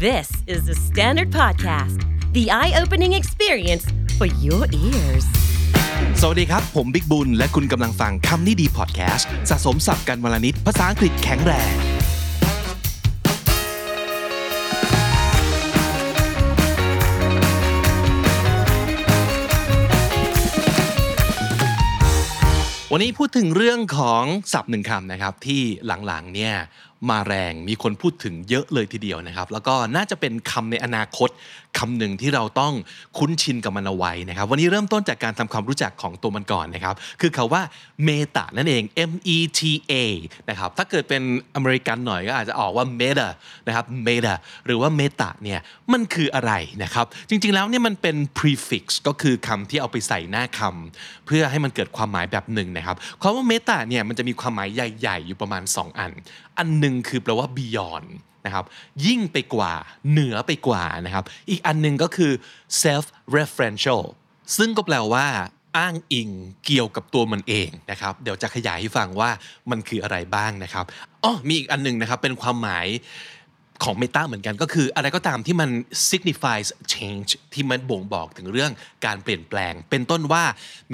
This is the Standard Podcast, the eye-opening experience for your ears. สวัสดีครับผมบิ๊กบุญและคุณกำลังฟังคำนี้ดีพอดแคสต์สะสมศัพท์กันวลนิดภาษาอังกฤษแข็งแรงวันนี้พูดถึงเรื่องของศัพท์หนึ่งคำนะครับที่หลังๆเนี่ยมาแรงมีคนพูดถึงเยอะเลยทีเดียวนะครับแล้วก็น่าจะเป็นคำในอนาคตคำหนึ่งที่เราต้องคุ้นชินกับมันเอาไว้นะครับวันนี้เริ่มต้นจากการทำความรู้จักของตัวมันก่อนนะครับคือคำว่าเมตานั่นเอง M-E-T-A นะครับถ้าเกิดเป็นอเมริกันหน่อยก็อาจจะออกว่า meta นะครับ meta หรือว่า meta เนี่ยมันคืออะไรนะครับจริงๆแล้วเนี่ยมันเป็น prefix ก็คือคำที่เอาไปใส่หน้าคำเพื่อให้มันเกิดความหมายแบบหนึ่งนะครับคำว่า meta เนี่ยมันจะมีความหมายใหญ่ๆอยู่ประมาณ2อันหนึ่งคือแปลว่า beyond นะครับยิ่งไปกว่าเหนือไปกว่านะครับอีกอันนึงก็คือ self referential ซึ่งก็แปลว่าอ้างอิงเกี่ยวกับตัวมันเองนะครับเดี๋ยวจะขยายให้ฟังว่ามันคืออะไรบ้างนะครับมีอีกอันนึงนะครับเป็นความหมายของ meta เหมือนกันก็คืออะไรก็ตามที่มัน signifies change ที่มันบ่งบอกถึงเรื่องการเปลี่ยนแปลงเป็นต้นว่า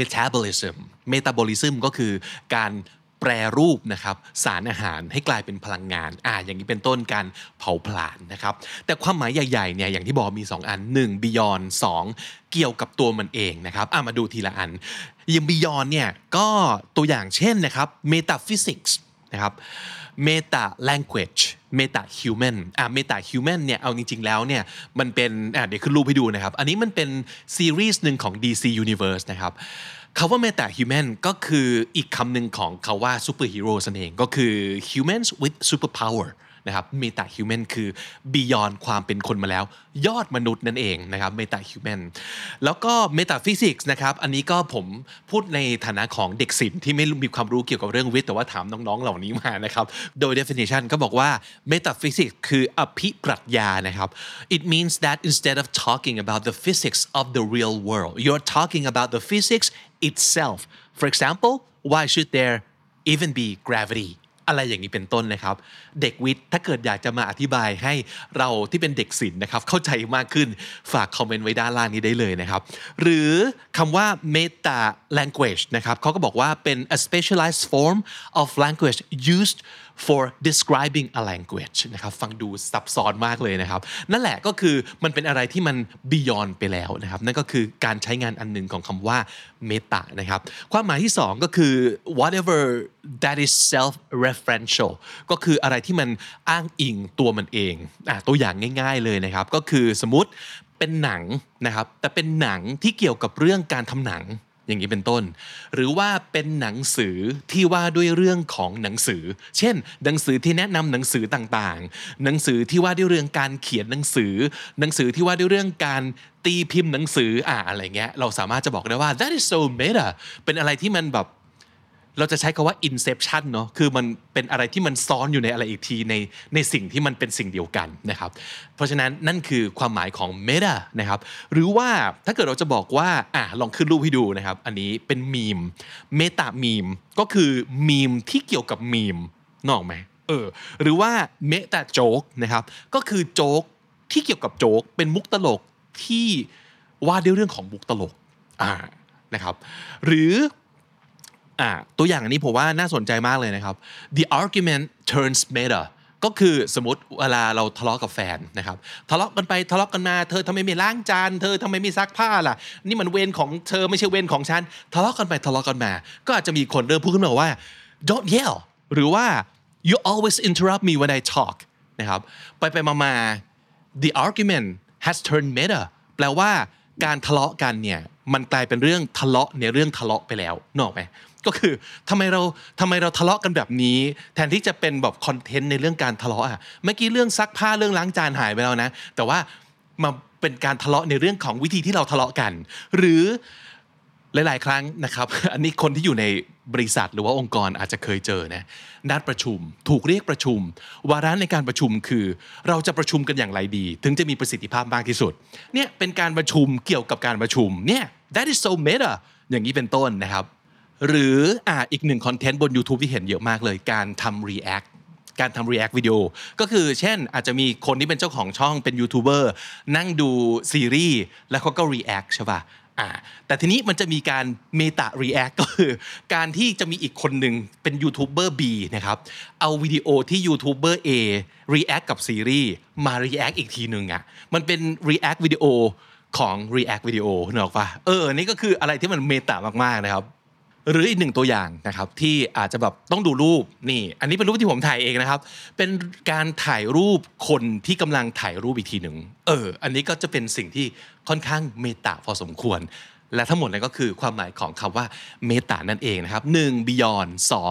metabolism ก็คือการแปรรูปนะครับสารอาหารให้กลายเป็นพลังงานอย่างนี้เป็นต้นการเผาผลาญนะครับแต่ความหมายใหญ่ๆเนี่ยอย่างที่บอกมี2อัน1 beyond 2เกี่ยวกับตัวมันเองนะครับมาดูทีละอันอย่าง beyond เนี่ยก็ตัวอย่างเช่นนะครับ metaphysics นะครับ meta language meta human meta human เนี่ยเอาจริงๆแล้วเนี่ยมันเป็นเดี๋ยวขึ้นรูปให้ดูนะครับอันนี้มันเป็นซีรีส์หนึ่งของ DC Universe นะครับคำว่า meta human ก็คืออีกคำหนึ่งของคำว่า superhero นั่นเองก็คือ humans with superpower นะครับ meta human คือ beyond ความเป็นคนมาแล้วยอดมนุษย์นั่นเองนะครับ meta human แล้วก็ metaphysics นะครับอันนี้ก็ผมพูดในฐานะของเด็กศิลป์ที่ไม่มีความรู้เกี่ยวกับเรื่องวิทย์แต่ว่าถามน้องๆเหล่านี้มานะครับโดย definition ก็บอกว่า metaphysics คืออภิปรัชญานะครับ it means that instead of talking about the physics of the real world you're talking about the physics itself for example why should there even be gravityอะไรอย่างนี้เป็นต้นนะครับเด็กวิทย์ถ้าเกิดอยากจะมาอธิบายให้เราที่เป็นเด็กศิลป์นะครับเข้าใจมากขึ้นฝากคอมเมนต์ไว้ด้านล่างนี้ได้เลยนะครับหรือคำว่า meta language นะครับเขาก็บอกว่าเป็น a specialized form of language used for describing a language นะครับฟังดูซับซ้อนมากเลยนะครับนั่นแหละก็คือมันเป็นอะไรที่มัน beyond ไปแล้วนะครับนั่นก็คือการใช้งานอันหนึ่งของคำว่า meta นะครับความหมายที่2ก็คือ whatever that is self referential ก็คืออะไรที่มันอ้างอิงตัวมันเองตัวอย่างง่ายๆเลยนะครับก็คือสมมุติเป็นหนังนะครับแต่เป็นหนังที่เกี่ยวกับเรื่องการทำหนังอย่างนี้เป็นต้นหรือว่าเป็นหนังสือที่ว่าด้วยเรื่องของหนังสือเช่นหนังสือที่แนะนำหนังสือต่างๆหนังสือที่ว่าด้วยเรื่องการเขียนหนังสือหนังสือที่ว่าด้วยเรื่องการตีพิมพ์หนังสืออะไรเงี้ยเราสามารถจะบอกได้ว่า that is so meta เป็นอะไรที่มันแบบเราจะใช้คำว่า inception เนาะคือมันเป็นอะไรที่มันซ้อนอยู่ในอะไรอีกทีในสิ่งที่มันเป็นสิ่งเดียวกันนะครับเพราะฉะนั้นนั่นคือความหมายของ meta นะครับหรือว่าถ้าเกิดเราจะบอกว่าลองขึ้นรูปให้ดูนะครับอันนี้เป็นมีม meta meme ก็คือมีมที่เกี่ยวกับมีมนึกออกไหมหรือว่า meta joke นะครับก็คือโจ๊กที่เกี่ยวกับโจ๊กเป็นมุกตลกที่ว่าด้วยเรื่องของมุกตลกนะครับหรือตัวอย่างอันนี้ผมว่าน่าสนใจมากเลยนะครับ the argument turns meta ก็คือสมมติเวลาเราทะเลาะกับแฟนนะครับทะเลาะกันไปทะเลาะกันมาเธอทำไมไม่ล้างจานเธอทำไมไม่ซักผ้าล่ะนี่มันเวรของเธอไม่ใช่เวรของฉันทะเลาะกันไปทะเลาะกันมาก็อาจจะมีคนเริ่มพูดขึ้นมาว่า don't yell หรือว่า you always interrupt me when I talk นะครับไปมา the argument has turned meta แปลว่าการทะเลาะกันเนี่ยมันกลายเป็นเรื่องทะเลาะในเรื่องทะเลาะไปแล้วนึกออกไหมก็คือทำไมเราทะเลาะกันแบบนี้แทนที่จะเป็นแบบคอนเทนต์ในเรื่องการทะเลาะเมื่อกี้เรื่องซักผ้าเรื่องล้างจานหายไปแล้วนะแต่ว่ามาเป็นการทะเลาะในเรื่องของวิธีที่เราทะเลาะกันหรือหลายๆครั้งนะครับอันนี้คนที่อยู่ในบริษัทหรือว่าองค์กรอาจจะเคยเจอนะนัดประชุมถูกเรียกประชุมวาระในการประชุมคือเราจะประชุมกันอย่างไรดีถึงจะมีประสิทธิภาพมากที่สุดเนี่ยเป็นการประชุมเกี่ยวกับการประชุมเนี่ย that is so meta อย่างนี้เป็นต้นนะครับหรืออีกหนึ่งคอนเทนต์บน YouTube ที่เห็นเยอะมากเลยการทำ react การทำ react วิดีโอก็คือเช่นอาจจะมีคนที่เป็นเจ้าของช่องเป็นยูทูบเบอร์นั่งดูซีรีส์แล้วเขาก็ react ใช่ป่ะแต่ทีนี้มันจะมีการ meta react ก็คือการที่จะมีอีกคนหนึ่งเป็นยูทูบเบอร์ B นะครับเอาวิดีโอที่ยูทูบเบอร์ A react กับซีรีส์มา react อีกทีหนึ่งมันเป็น react วิดีโอของ react วิดีโอนึกออกป่ะนี่ก็คืออะไรที่มันเมตามากๆนะครับหรืออีกหนึ่งตัวอย่างนะครับที่อาจจะแบบต้องดูรูปนี่อันนี้เป็นรูปที่ผมถ่ายเองนะครับเป็นการถ่ายรูปคนที่กำลังถ่ายรูปอีกทีหนึ่งอันนี้ก็จะเป็นสิ่งที่ค่อนข้างเมตาพอสมควรและทั้งหมดนั้นก็คือความหมายของคำว่าเมตานั่นเองนะครับ1 beyond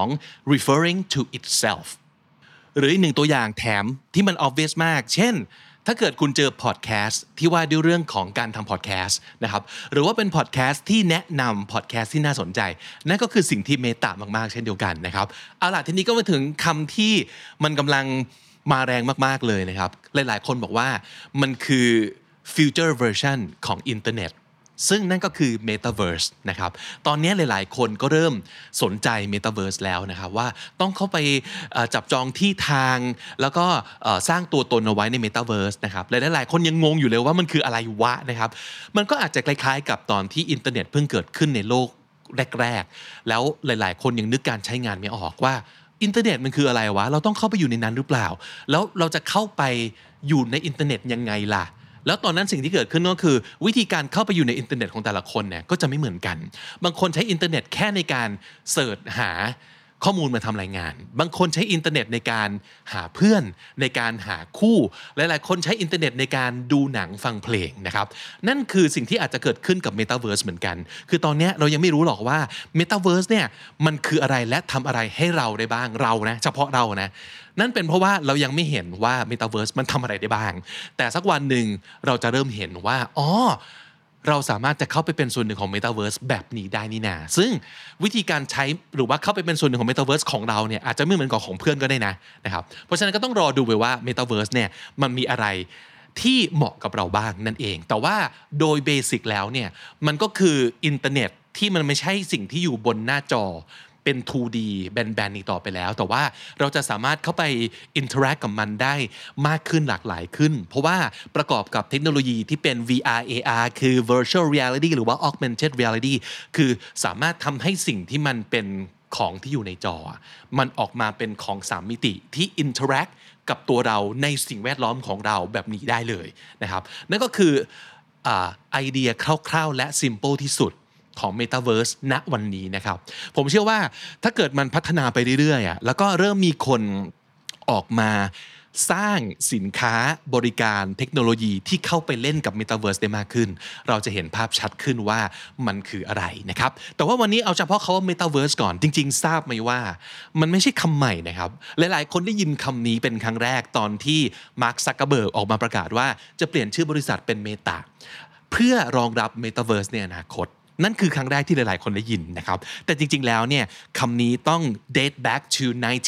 2 referring to itself หรืออีกหนึ่งตัวอย่างแถมที่มัน obvious มากเช่นถ้าเกิดคุณเจอพอดแคสต์ที่ว่าด้วยเรื่องของการทำพอดแคสต์นะครับหรือว่าเป็นพอดแคสต์ที่แนะนำพอดแคสต์ที่น่าสนใจนั่นก็คือสิ่งที่เมตามากๆเช่นเดียวกันนะครับเอาล่ะทีนี้ก็มาถึงคำที่มันกำลังมาแรงมากๆเลยนะครับหลายๆคนบอกว่ามันคือ future version ของอินเทอร์เน็ตซึ่งนั่นก็คือ Metaverse นะครับตอนนี้หลายๆคนก็เริ่มสนใจ Metaverse แล้วนะครับว่าต้องเข้าไปจับจองที่ทางแล้วก็สร้างตัวตนเอาไว้ใน Metaverse นะครับหลายๆคนยังงงอยู่เลยว่ามันคืออะไรวะนะครับมันก็อาจจะคล้ายๆกับตอนที่อินเทอร์เน็ตเพิ่งเกิดขึ้นในโลกแรกๆแล้วหลายๆคนยังนึกการใช้งานไม่ออกว่าอินเทอร์เน็ตมันคืออะไรวะเราต้องเข้าไปอยู่ในนั้นหรือเปล่าแล้วเราจะเข้าไปอยู่ในอินเทอร์เน็ตยังไงล่ะแล้วตอนนั้นสิ่งที่เกิดขึ้นก็คือวิธีการเข้าไปอยู่ในอินเทอร์เน็ตของแต่ละคนเนี่ยก็จะไม่เหมือนกันบางคนใช้อินเทอร์เน็ตแค่ในการเสิร์ชหาข้อมูลมาทำรายงานบางคนใช้อินเทอร์เน็ตในการหาเพื่อนในการหาคู่หลายๆคนใช้อินเทอร์เน็ตในการดูหนังฟังเพลงนะครับนั่นคือสิ่งที่อาจจะเกิดขึ้นกับ Metaverse เหมือนกันคือตอนนี้เรายังไม่รู้หรอกว่า Metaverse เนี่ยมันคืออะไรและทำอะไรให้เราได้บ้างเรานะเฉพาะเรานะนั่นเป็นเพราะว่าเรายังไม่เห็นว่า Metaverse มันทำอะไรได้บ้างแต่สักวันหนึ่งเราจะเริ่มเห็นว่าเราสามารถจะเข้าไปเป็นส่วนหนึ่งของ Metaverse แบบนี้ได้นี่นาซึ่งวิธีการใช้หรือว่าเข้าไปเป็นส่วนหนึ่งของ Metaverse ของเราเนี่ยอาจจะไม่เหมือนกับของเพื่อนก็ได้นะครับเพราะฉะนั้นก็ต้องรอดูไปว่า Metaverse เนี่ยมันมีอะไรที่เหมาะกับเราบ้างนั่นเองแต่ว่าโดยเบสิกแล้วเนี่ยมันก็คืออินเทอร์เน็ตที่มันไม่ใช่สิ่งที่อยู่บนหน้าจอเป็น 2D แบนๆอีกต่อไปแล้วแต่ว่าเราจะสามารถเข้าไป interact กับมันได้มากขึ้นหลากหลายขึ้นเพราะว่าประกอบกับเทคโนโลยีที่เป็น VR AR คือ virtual reality หรือว่า augmented reality คือสามารถทำให้สิ่งที่มันเป็นของที่อยู่ในจอมันออกมาเป็นของ3มิติที่ interact กับตัวเราในสิ่งแวดล้อมของเราแบบนี้ได้เลยนะครับนั่นก็คือไอเดียคร่าวๆและ simple ที่สุดของ Metaverse ณวันนี้นะครับผมเชื่อว่าถ้าเกิดมันพัฒนาไปเรื่อยๆแล้วก็เริ่มมีคนออกมาสร้างสินค้าบริการเทคโนโลยีที่เข้าไปเล่นกับ Metaverse ได้มากขึ้นเราจะเห็นภาพชัดขึ้นว่ามันคืออะไรนะครับแต่ว่าวันนี้เอาเฉพาะคำว่า Metaverse ก่อนจริงๆทราบไหมว่ามันไม่ใช่คำใหม่นะครับหลายๆคนได้ยินคำนี้เป็นครั้งแรกตอนที่มาร์ค ซักเคอร์เบิร์กออกมาประกาศว่าจะเปลี่ยนชื่อบริษัทเป็น Meta เพื่อรองรับ Metaverse ในอนาคตนั่นคือครั้งแรกที่หลายๆคนได้ยินนะครับแต่จริงๆแล้วเนี่ยคำนี้ต้อง date back to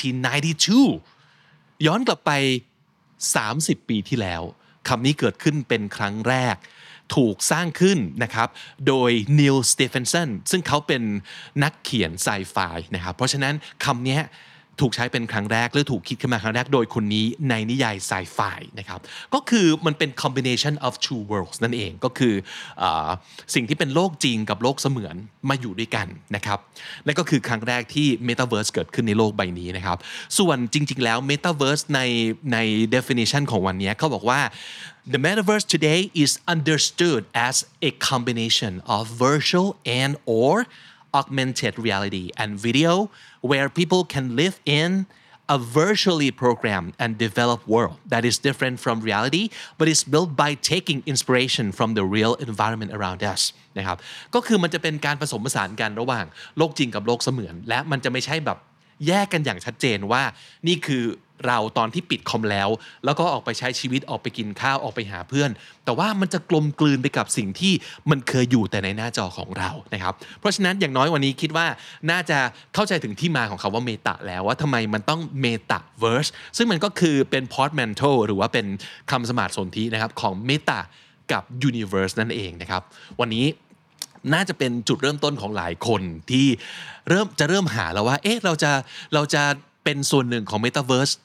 1992 ย้อนกลับไป30 ปีที่แล้วคำนี้เกิดขึ้นเป็นครั้งแรกถูกสร้างขึ้นนะครับโดยนิล สเตเฟนสันซึ่งเขาเป็นนักเขียนไซไฟนะครับเพราะฉะนั้นคำนี้ถูกใช้เป็นครั้งแรกหรือถูกคิดขึ้นมาครั้งแรกโดยคนนี้ในนิยายไซไฟนะครับก็คือมันเป็น combination of two worlds นั่นเองก็คือสิ่งที่เป็นโลกจริงกับโลกเสมือนมาอยู่ด้วยกันนะครับนั่นก็คือครั้งแรกที่ Metaverse เกิดขึ้นในโลกใบนี้นะครับส่วนจริงๆแล้ว Metaverse ใน definition ของวันนี้เขาบอกว่า The metaverse today is understood as a combination of virtual and or augmented reality and video where people can live in a virtually programmed and developed world that is different from reality but is built by taking inspiration from the real environment around us นะครับก็คือมันจะเป็นการผสมผสานกันระหว่างโลกจริงกับโลกเสมือนและมันจะไม่ใช่แบบแยกกันอย่างชัดเจนว่านี่คือเราตอนที่ปิดคอมแล้วก็ออกไปใช้ชีวิตออกไปกินข้าวออกไปหาเพื่อนแต่ว่ามันจะกลมกลืนไปกับสิ่งที่มันเคยอยู่แต่ในหน้าจอของเรานะครับเพราะฉะนั้นอย่างน้อยวันนี้คิดว่าน่าจะเข้าใจถึงที่มาของคำว่าเมตาแล้วว่าทำไมมันต้องเมตาเวิร์สซึ่งมันก็คือเป็น portmanteau หรือว่าเป็นคำสมาร์ทสนธินะครับของเมตากับ universe นั่นเองนะครับวันนี้น่าจะเป็นจุดเริ่มต้นของหลายคนที่เริ่มหาแล้วว่าเราจะเป็นส่วนหนึ่งของ Metaverse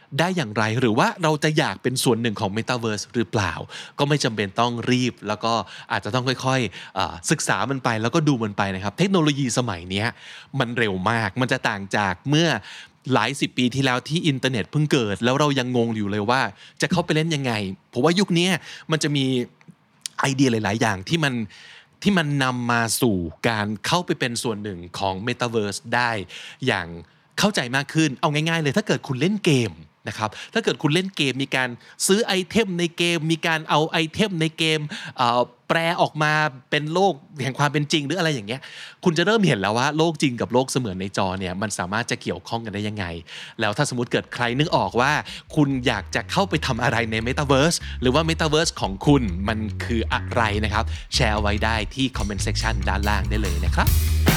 ได้อย่างไรหรือว่าเราจะอยากเป็นส่วนหนึ่งของ Metaverse หรือเปล่าก็ไม่จำเป็นต้องรีบแล้วก็อาจจะต้องค่อยๆศึกษามันไปแล้วก็ดูมันไปนะครับเทคโนโลยีสมัยนี้มันเร็วมากมันจะต่างจากเมื่อหลาย10 ปีที่แล้วที่อินเทอร์เน็ตเพิ่งเกิดแล้วเรายังงงอยู่เลยว่าจะเข้าไปเล่นยังไงเพราะว่ายุคนี้มันจะมีไอเดียหลายๆอย่างที่มันนำมาสู่การเข้าไปเป็นส่วนหนึ่งของ Metaverse ได้อย่างเข้าใจมากขึ้นเอาง่ายๆเลยถ้าเกิดคุณเล่นเกมนะครับถ้าเกิดคุณเล่นเกมมีการซื้อไอเทมในเกมมีการเอาไอเทมในเกมแปลออกมาเป็นโลกแห่งความเป็นจริงหรืออะไรอย่างเงี้ยคุณจะเริ่มเห็นแล้วว่าโลกจริงกับโลกเสมือนในจอเนี่ยมันสามารถจะเกี่ยวข้องกันได้ยังไงแล้วถ้าสมมติเกิดใครนึกออกว่าคุณอยากจะเข้าไปทำอะไรใน Metaverse หรือว่า Metaverse ของคุณมันคืออะไรนะครับแชร์เอาไว้ได้ที่ comment section ด้านล่างได้เลยนะครับ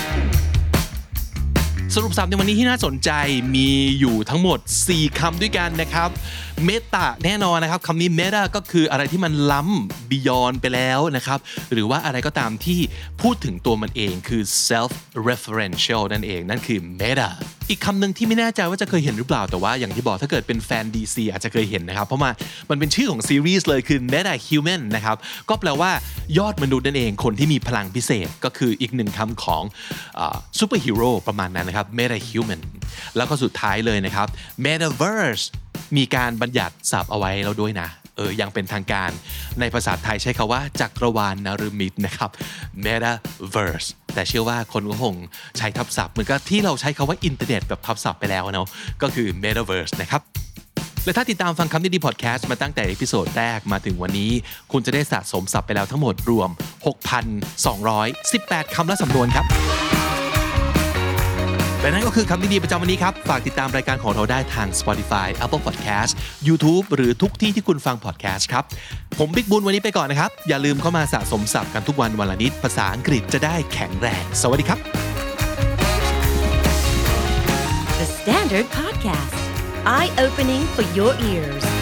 สรุปศัพท์ในวันนี้ที่น่าสนใจมีอยู่ทั้งหมด4คำด้วยกันนะครับเมตาแน่นอนนะครับคำนี้ meta ก็คืออะไรที่มันล้ำ beyond ไปแล้วนะครับหรือว่าอะไรก็ตามที่พูดถึงตัวมันเองคือ self referential นั่นเองนั่นคือ meta อีกคำหนึ่งที่ไม่แน่ใจว่าจะเคยเห็นหรือเปล่าแต่ว่าอย่างที่บอกถ้าเกิดเป็นแฟน DC อาจจะเคยเห็นนะครับเพราะมันเป็นชื่อของซีรีส์เลยคือ meta human นะครับก็แปลว่ายอดมนุษย์นั่นเองคนที่มีพลังพิเศษก็คืออีกหนึ่งคำของซูเปอร์ฮีโร่ประมาณนั้นนะครับ meta human แล้วก็สุดท้ายเลยนะครับ metaverse มีการบัญญัติศัพท์เอาไว้แล้วด้วยนะยังเป็นทางการในภาษาไทยใช้คำว่าจักรวาลนฤมิตนะครับ metaverse แต่เชื่อว่าคนก็คงใช้ทับศัพท์เหมือนกับที่เราใช้คำว่าอินเทอร์เน็ตแบบทับศัพท์ไปแล้วเนาะก็คือ metaverse นะครับและถ้าติดตามฟังคำนี้ดีพอดแคสต์มาตั้งแต่เอพิโซดแรกมาถึงวันนี้คุณจะได้สะสมศัพท์ไปแล้วทั้งหมดรวม 6,218 คำและสำนวนครับและนั่นก็คือคำนี้ดีประจำวันนี้ครับฝากติดตามรายการของเราได้ทาง Spotify Apple Podcast YouTube หรือทุกที่ที่คุณฟัง podcast ครับผมบิ๊กบุญวันนี้ไปก่อนนะครับอย่าลืมเข้ามาสะสมศัพท์กันทุกวันวันละนิดภาษาอังกฤษจะได้แข็งแรงสวัสดีครับ The Standard Podcast Eye Opening for Your Ears